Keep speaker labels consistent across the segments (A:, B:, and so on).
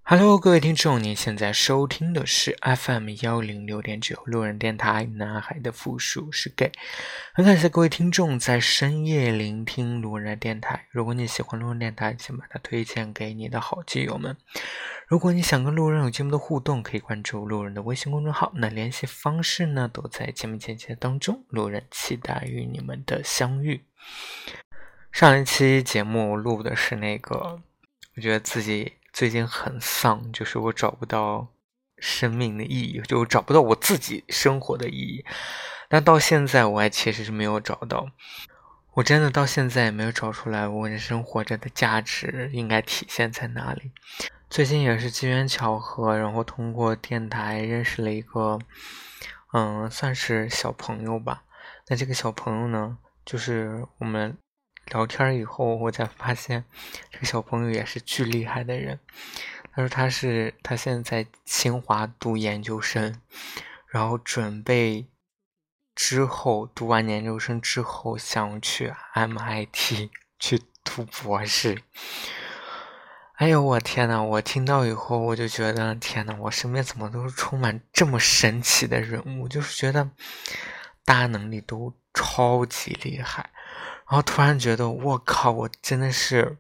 A: Hello，各位听众，您现在收听的是 FM106.9路人电台，男孩的复数是 gay。很感谢各位听众在深夜聆听路人电台。如果你喜欢路人电台，请把它推荐给你的好基友们。如果你想跟路人有节目的互动，可以关注路人的微信公众号，那联系方式呢都在节目简介当中。路人期待与你们的相遇。上一期节目录的是我觉得自己最近很丧，就是我找不到生命的意义，就我找不到我自己生活的意义。但到现在我还其实是没有找到，我真的到现在也没有找出来我人生活着的价值应该体现在哪里。最近也是机缘巧合，然后通过电台认识了一个算是小朋友吧。那这个小朋友呢，就是我们聊天以后，我才发现这个小朋友也是巨厉害的人。他说他现在在清华读研究生，然后准备之后读完研究生之后想去 MIT 去读博士。哎呦我天呐，我听到以后我就觉得天呐，我身边怎么都是充满这么神奇的人物，就是觉得大家能力都超级厉害。然后突然觉得我靠，我真的是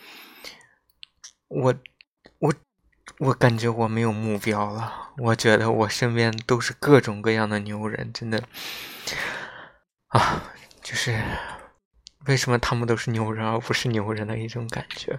A: 我我感觉我没有目标了。我觉得我身边都是各种各样的牛人，真的啊，就是为什么他们都是牛人而不是牛人的一种感觉。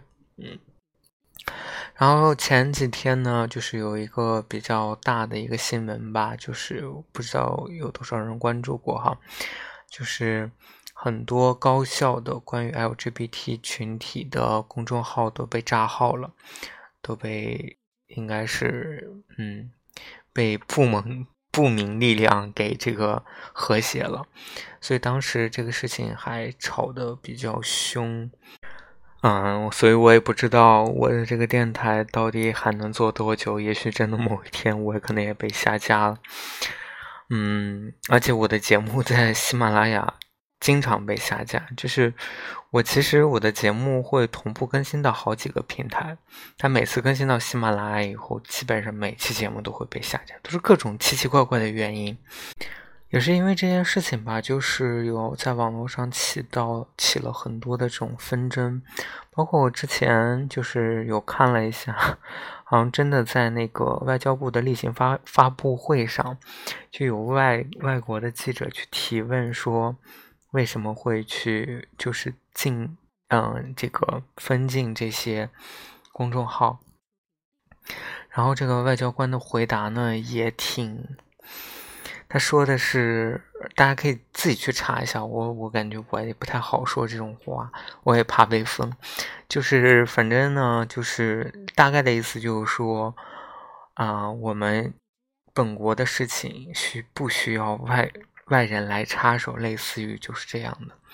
A: 然后前几天呢，就是有一个比较大的一个新闻吧，就是不知道有多少人关注过哈，就是很多高校的关于 LGBT 群体的公众号都被炸号了，都被应该是被不明力量给这个和谐了，所以当时这个事情还吵得比较凶。所以我也不知道我的这个电台到底还能做多久，也许真的某一天我可能也被下架了。而且我的节目在喜马拉雅经常被下架，就是其实我的节目会同步更新到好几个平台，但每次更新到喜马拉雅以后，基本上每期节目都会被下架，都是各种奇奇怪怪的原因。也是因为这件事情吧，就是有在网络上起了很多的这种纷争，包括我之前就是有看了一下，好像真的在那个外交部的例行发布会上，就有外国的记者去提问说，为什么会去就是这个封禁这些公众号，然后这个外交官的回答呢也他说的是，大家可以自己去查一下，我感觉我也不太好说这种话，我也怕被封。就是反正呢，就是大概的意思就是说，我们本国的事情不需要外人来插手，类似于就是这样的。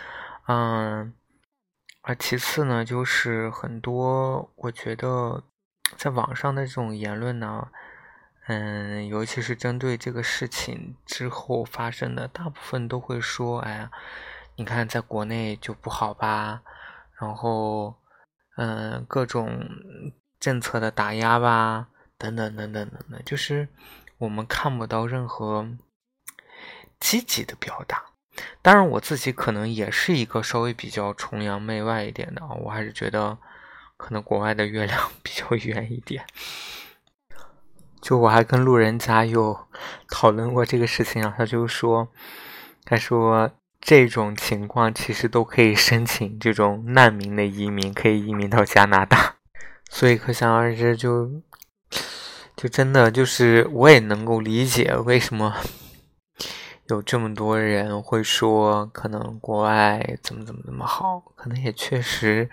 A: 而其次呢，就是很多我觉得在网上的这种言论呢。尤其是针对这个事情之后发生的，大部分都会说：“哎呀，你看在国内就不好吧，然后，各种政策的打压吧，等等等等等等，就是我们看不到任何积极的表达。当然，我自己可能也是一个稍微比较崇洋媚外一点的啊，我还是觉得可能国外的月亮比较圆一点。”就我还跟路人甲有讨论过这个事情啊，他说这种情况其实都可以申请这种难民的移民，可以移民到加拿大，所以可想而知就真的就是我也能够理解为什么有这么多人会说可能国外怎么好，可能也确实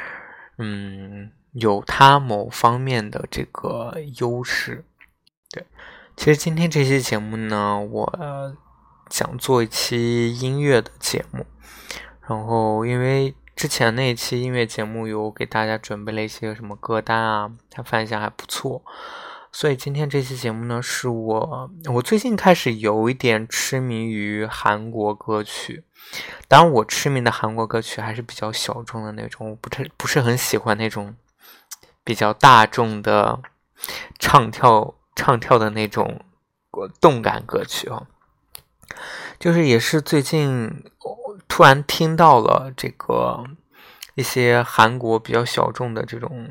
A: 有他某方面的这个优势。对，其实今天这期节目呢，我想做一期音乐的节目，然后因为之前那一期音乐节目有给大家准备了一些什么歌单啊，它反响还不错，所以今天这期节目呢，是我最近开始有一点痴迷于韩国歌曲，当然我痴迷的韩国歌曲还是比较小众的那种，我不是很喜欢那种比较大众的唱跳的那种动感歌曲哦。就是也是最近突然听到了这个一些韩国比较小众的这种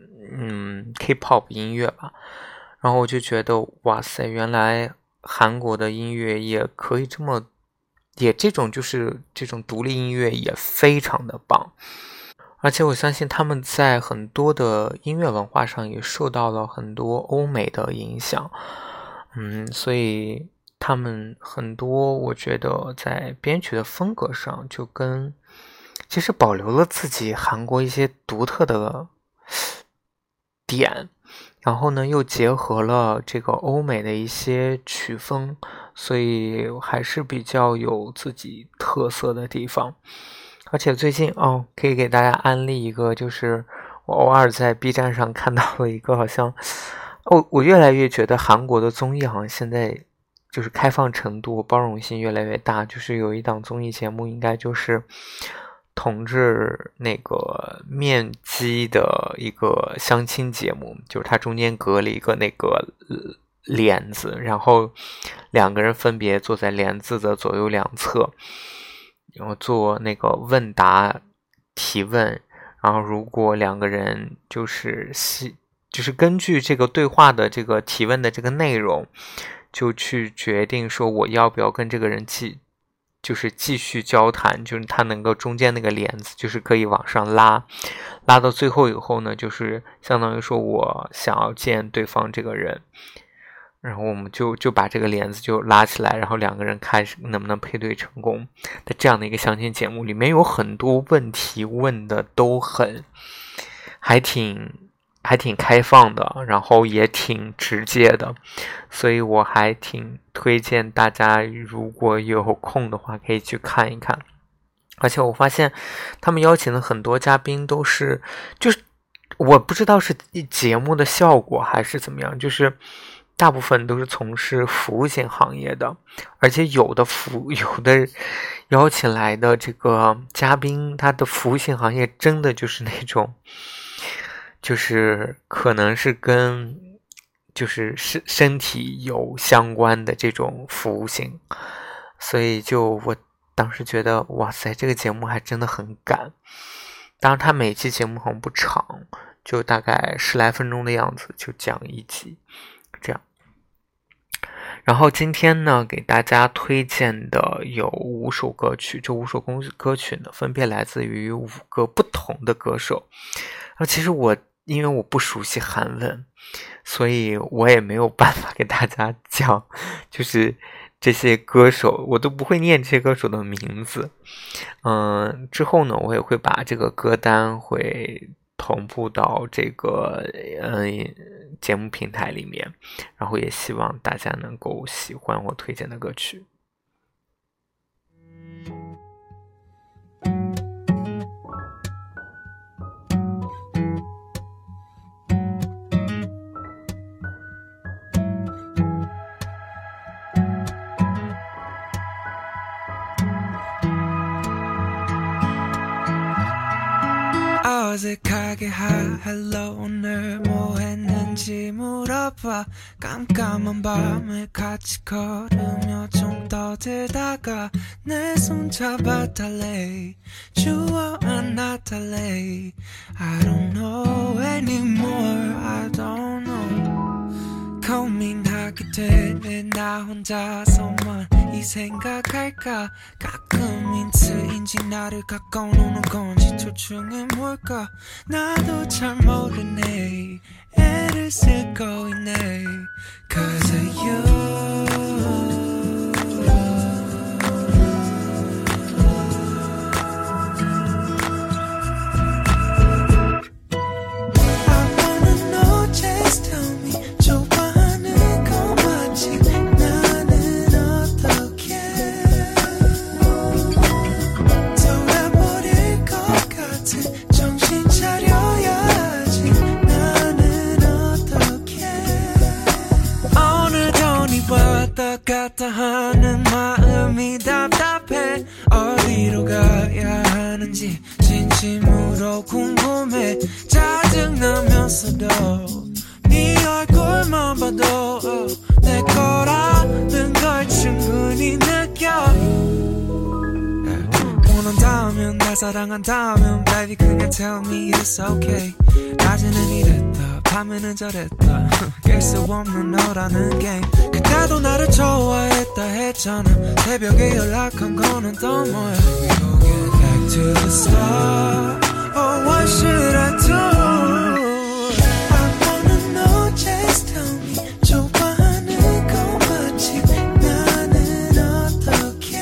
A: K-pop 音乐吧，然后我就觉得哇塞，原来韩国的音乐也可以这种就是这种独立音乐也非常的棒，而且我相信他们在很多的音乐文化上也受到了很多欧美的影响，所以他们很多我觉得在编曲的风格上就其实保留了自己韩国一些独特的点，然后呢又结合了这个欧美的一些曲风，所以还是比较有自己特色的地方。而且最近可以给大家安利一个，就是我偶尔在 B 站上看到了一个好像我越来越觉得韩国的综艺好像现在就是开放程度包容性越来越大，就是有一档综艺节目应该就是统治那个面基的一个相亲节目，就是它中间隔了一个那个帘子，然后两个人分别坐在帘子的左右两侧，然后做那个问答提问，然后如果两个人就是根据这个对话的这个提问的这个内容，就去决定说我要不要跟这个人继续交谈，就是他能够中间那个帘子就是可以往上拉到最后以后呢，就是相当于说我想要见对方这个人，然后我们就把这个帘子就拉起来，然后两个人看能不能配对成功的这样的一个相亲节目，里面有很多问题问的都还挺开放的，然后也挺直接的，所以我还挺推荐大家如果有空的话可以去看一看。而且我发现他们邀请的很多嘉宾就是我不知道是节目的效果还是怎么样，就是大部分都是从事服务性行业的，而且有的邀请来的这个嘉宾，他的服务性行业真的就是那种就是可能是跟就是身体有相关的这种服务性，所以我当时觉得哇塞，这个节目还真的很赶。当然他每期节目好像不长，就大概10来分钟的样子，就讲一集这样。然后今天呢给大家推荐的有5首歌曲，这5首歌曲呢分别来自于5个不同的歌手。其实因为我不熟悉韩文，所以我也没有办法给大家讲就是这些歌手，我都不会念这些歌手的名字。之后呢我也会把这个歌单会同步到这个节目平台里面，然后也希望大家能够喜欢我推荐的歌曲。
B: 어색하게 hello 오늘 뭐 했는지 물어봐 깜깜한 밤을 같이 걸으며 좀 떠들다가 내 손 잡아 달래 주워 안아 달래 I don't know anymore I don't know 고민하게 되네 나 혼자서만 이 생각할까 가끔 힌트인지 나를 가까워오는 건지 둘 중에 뭘까 나도 잘 모르네 애를 쓰고 있네 Cause of you 갔다 하는 마음이 답답해 어디로 가야 하는지 진심으로 궁금해 짜증나면서 사랑한다면 baby 그냥 tell me it's okay 낮에는 이랬다 밤에는 저랬다 깰 수 없는 너라는 게임 그때도 나를 좋아했다 했잖아 새벽에 연락한 거는 또 뭐야 We gon' get back to the start Oh what should I do I wanna know just tell me 좋아하는 거 맞지 나는 어떻게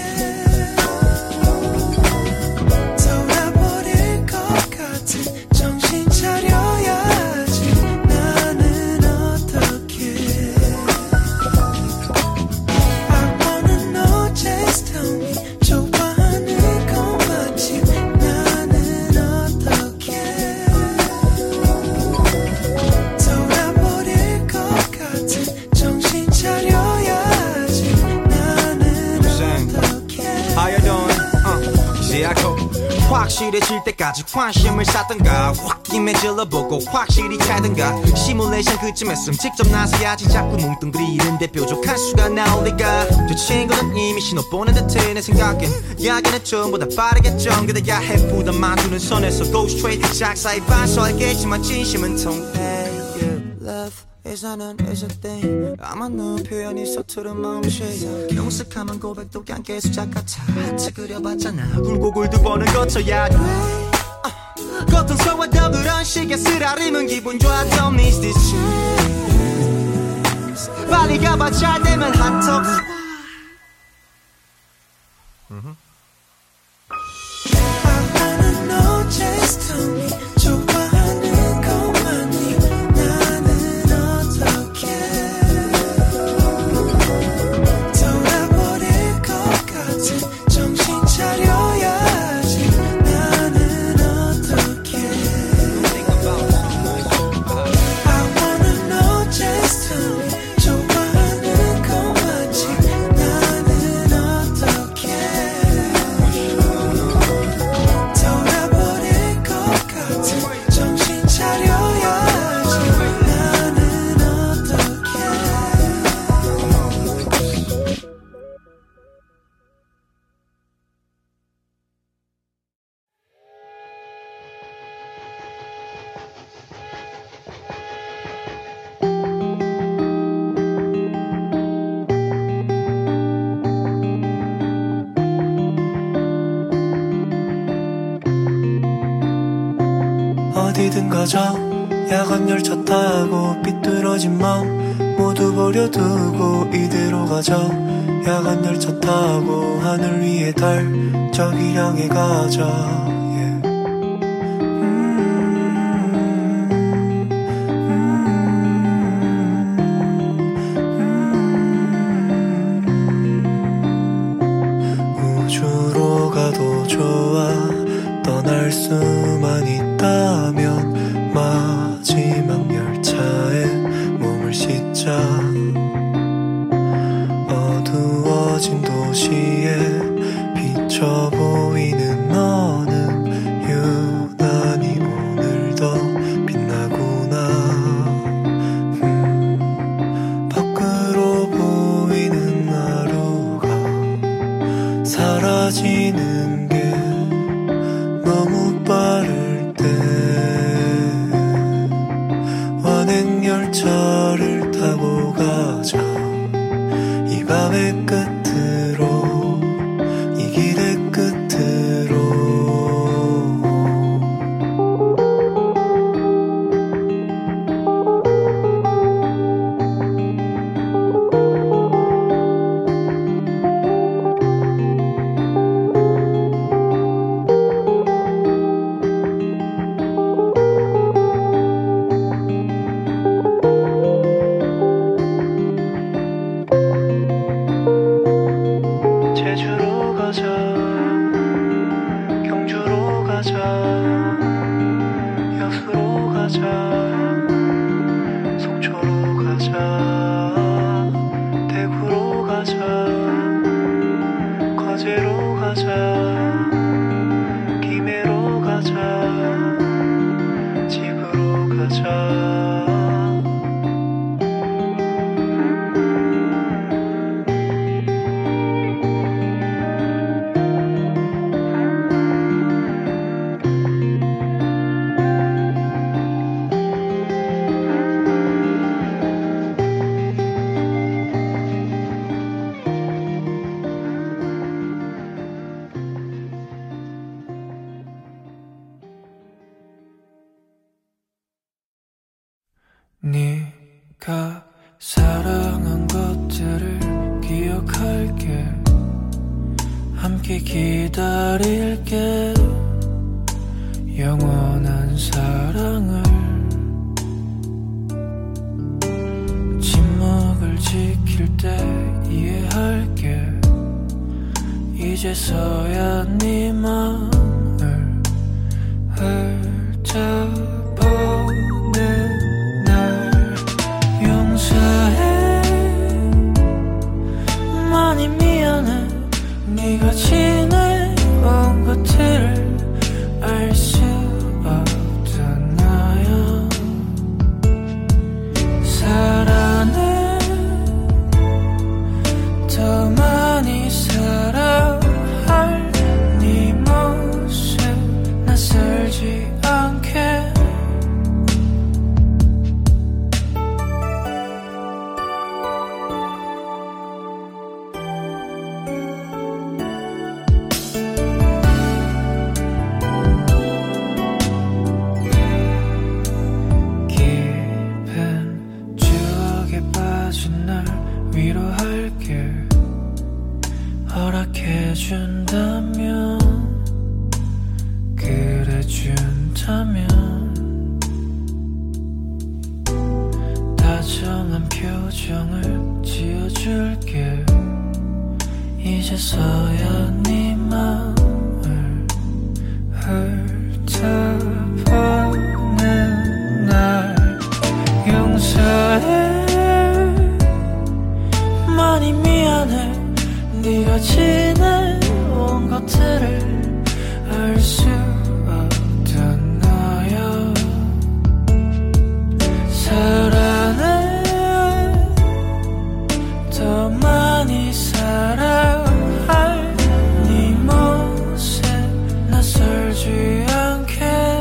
B: 돌아버릴 것 같은 정신 차려야지 나는 어떻게 I wanna know just tell me 좋아하는 거 맞지 나는 어떻게 돌아버릴 것 같은 정신 차려야지 나는 어떻게
C: How you doing? 이제 알고 확실해질 때까지 관심을 쌓던가 확김에 질러보고 확실히 차던가 시뮬레이션 그쯤했음 직접 나서야지 자꾸 뭉뚱그리는데 뾰족한 수가 나올 리가 저 친구는 이미 신호 보낸 듯해 내 생각엔 이야기는 전보다 빠르겠죠 그대야 해부다 만두는 선에서 go straight 작사의 반서 알겠지만 진심은 통해 Love is a thing 아마 너 표현이 서투른 마음씨 경숙하면 고백도 그냥 계속 같아 하트 그려봤잖아 굴곡을 두 번은 거쳐야 돼 고통스러워도 그런 식의 쓰라림은 기분 좋아 Don't miss this chance 빨리 가봐 잘 되면 핫톡
B: I wanna know just tell me 좋아하는 거 맞니 나는 어떻게 돌아버릴 것 같은 정신 차려야지 나는 어떻게 I wanna know just tell me 좋아하는 거 맞지 나는 어떻게 돌아버릴 것 같은 정신 차려야지 나는 어떻게 어디든 가자 야간 열차 타고 삐뚤어진 맘 모두 버려두고 이대로 가자 야간 열차 타고 하늘 위의 달 저기 향해 가자 yeah. 우주로 가도 좋아 떠날 수만 있다면 마지막 열차에 몸을 싣자 어두워진 도시에 비쳐 보이는 너는 유난히 오늘도 빛나구나 밖으로 보이는 하루가 사라지는 게 너무 빠를 때 완행 열차를 타고 가자 이 밤의 끝으로 이 길의 끝으로 네가 사랑한 것들을 기억할게 함께 기다릴게 영원한 사랑을 침묵을 지킬 때 이해할게 이제서야 네 맘을 훑어보는 날 용서해 많이 미안해 네가 지내온 것들을 알 수 없던 나야 사랑해 더 많이 사랑할 네 모습 낯설지 않게 깊은 추억에 빠진 날 위로할게 허락해준다면 그래준다면 다정한 표정을 지어줄게 이제서야 네 맘을 훑어보는 날 용서해 많이 미안해 네가 지내온 것들을 알 수 없던 나야 사랑해 더 많이 사랑할 네 모습 낯설지 않게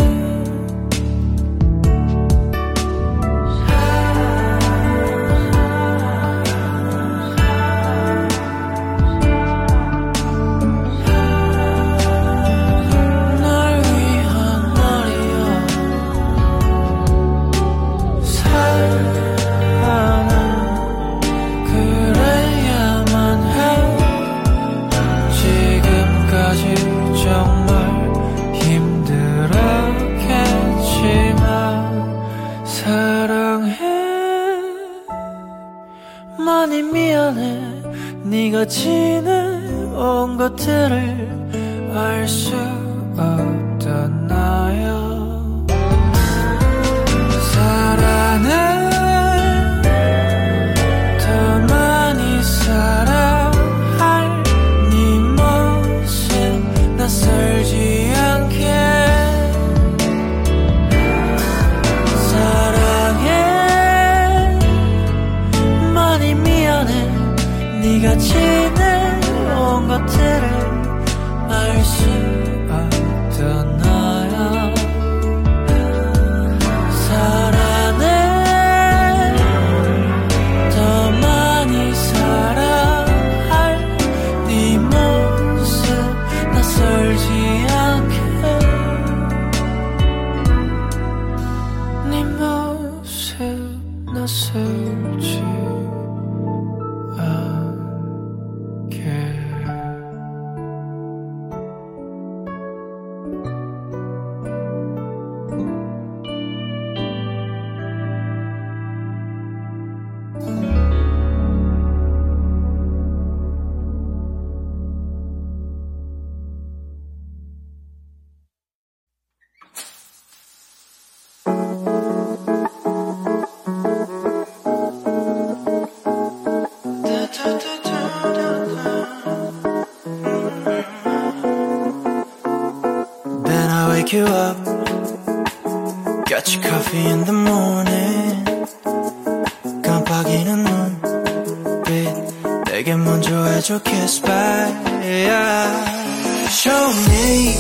B: 날 위한 말이야 사랑은 그래야만 해 지금까지 정말 힘들었겠지만 사랑해 많이 미안해 네가 지내온 것들을 알 수 없던 나야 사랑해 더 많이 사랑할 네 모습 낯설지 않게 사랑해 많이 미안해 네가 지내온 것들을 알 수 없던 나야 사랑해 더 많이 사랑할 네 모습 낯설지 않게 네 모습 낯설지 않게 Then I wake you up Got your coffee in the morning 깜빡이는 눈빛 내게 먼저 해줘 kiss back yeah. Show me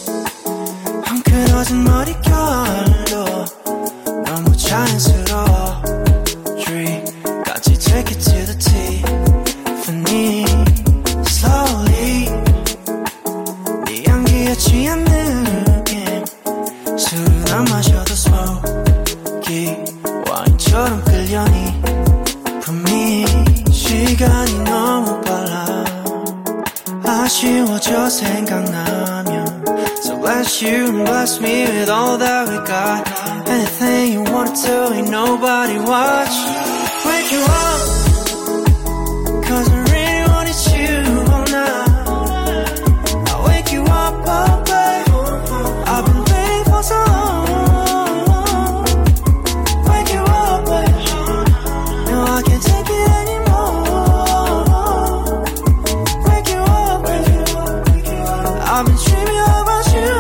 B: 헝클어진 머릿결로 너무 자연스러워 Dream까지 take it to the Tiffany Slowly 네 향기에 취한 느낌 술을 안 마셔도 smoky 와인 바람처럼 끌려니 분명히 시간이 너무 빨라 아쉬워져 생각나면 So bless you and bless me with all that we got Anything you wanna do ain't nobody watch Wake you up Cause I really wanted you all night I'll wake you up, oh babe I've been waiting for so long Wake you up, babe No, I can't take it anymore Wake you up, babe I've been dreaming about you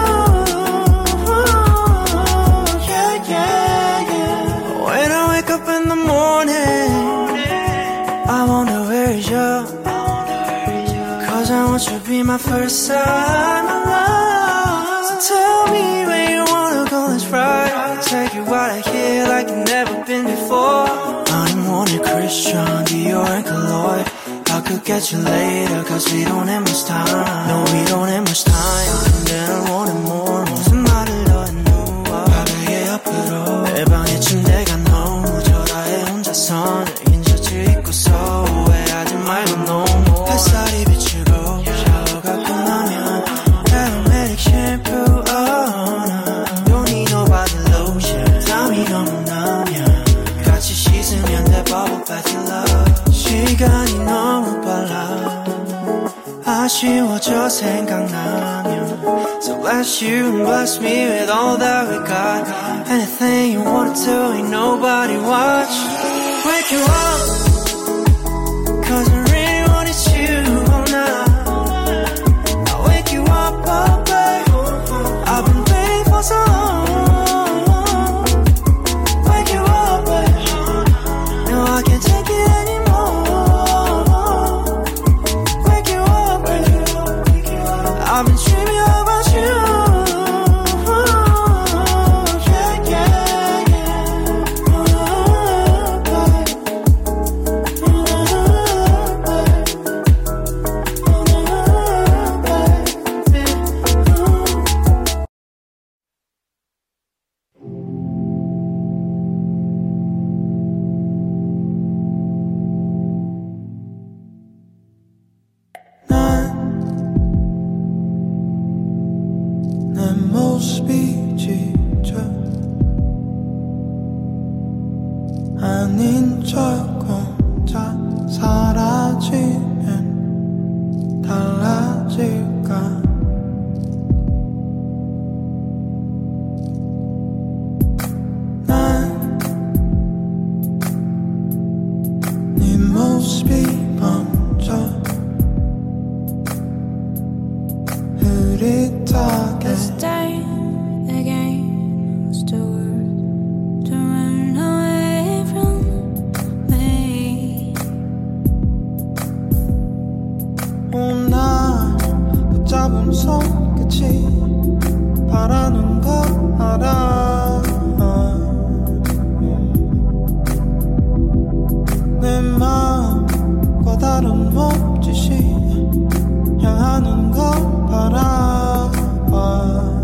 B: Yeah, yeah, yeah When I wake up in the morning I wonder where is you Cause I want you to be my first sign of love So tell me where you wanna go, let's ride Take you out of here like you've never been before I'm wanting Christian, Dior and Cologne I could get you later cause we don't have much time No, we don't have much time 근데 널 원해 more 무슨 말을 너는 누워 바닥에 옆으로 내 방에 침대가 너무 초라해 혼자서 긴 셔츠 입고서 후회하지 말고 너무 햇살이 비추고 샤워가 끝나면 aromatic shampoo Don't need no body lotion 땀이 너무 나면 같이 씻으면 돼 bubble bath in love 시간이 너무 빨라 아쉬워져 생각나면 So bless you and bless me with all that we got Anything you wanna do ain't nobody watch Wake you up Cause I really wanted you all night I'll wake you up, oh babe I've been waiting for so long Wake you up, babe No, I can't take it anymore Wake you up, babe I've been dreaming about you Yeah, yeah, yeah Ooh, babe Ooh, babe Ooh, babe 내 모습이 지쳐 아닌 척 혼자 사라지면 달라질까 난 네 모습이 먼저 흐릿하게
D: This day against the world to run away from me.
B: 날 붙잡은 손끝이 바라는 걸 알아 내 마음과 다른 몸짓이 향하는 걸 바라봐